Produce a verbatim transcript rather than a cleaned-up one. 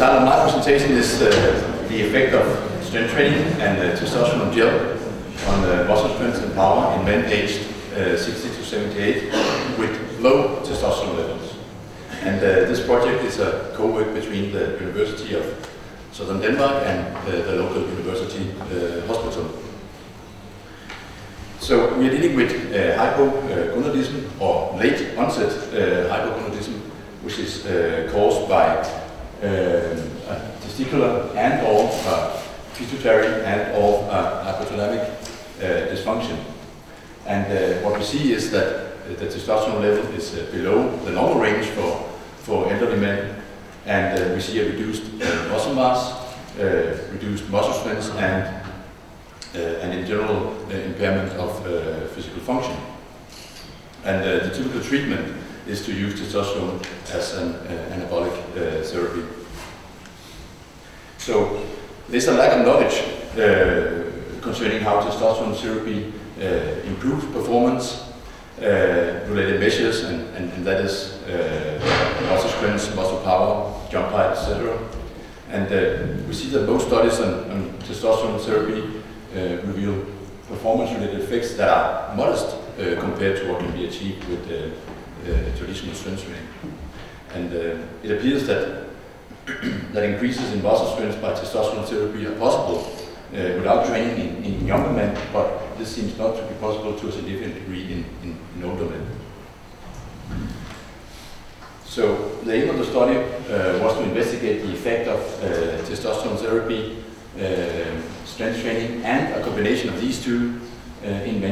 title of my presentation is uh, the effect of strength training and uh, testosterone gel on uh, muscle strength and power in men aged uh, sixty to seventy-eight with low testosterone levels. And uh, this project is a co-work between the University of Southern Denmark and uh, the local university uh, hospital. So we are dealing with uh, hypogonadism or late onset uh, hypogonadism, which is uh, caused by uh, a testicular and or uh, pituitary and or uh, hypothalamic uh, dysfunction. And uh, what we see is that the testosterone level is uh, below the normal range for, for elderly men, and uh, we see a reduced uh, muscle mass, uh, reduced muscle strength, and uh, and in general uh, impairment of uh, physical function. And uh, the typical treatment is to use testosterone as an uh, anabolic uh, therapy. So there's a lack of knowledge uh, concerning how testosterone therapy uh, improves performance, uh, related measures, and, and, and that is uh, muscle strength, muscle power, jump height, et cetera. And uh, we see that most studies on, on testosterone therapy uh, reveal performance-related effects that are modest uh, compared to what can be achieved with uh, uh, traditional strength training. And uh, it appears that that increases in muscle strength by testosterone therapy are possible uh, without training in, in younger men, but this seems not to be possible to a significant degree in, in, in older men. So the aim of the study uh, was to investigate the effect of uh, testosterone therapy, uh, strength training, and a combination of these two uh, in men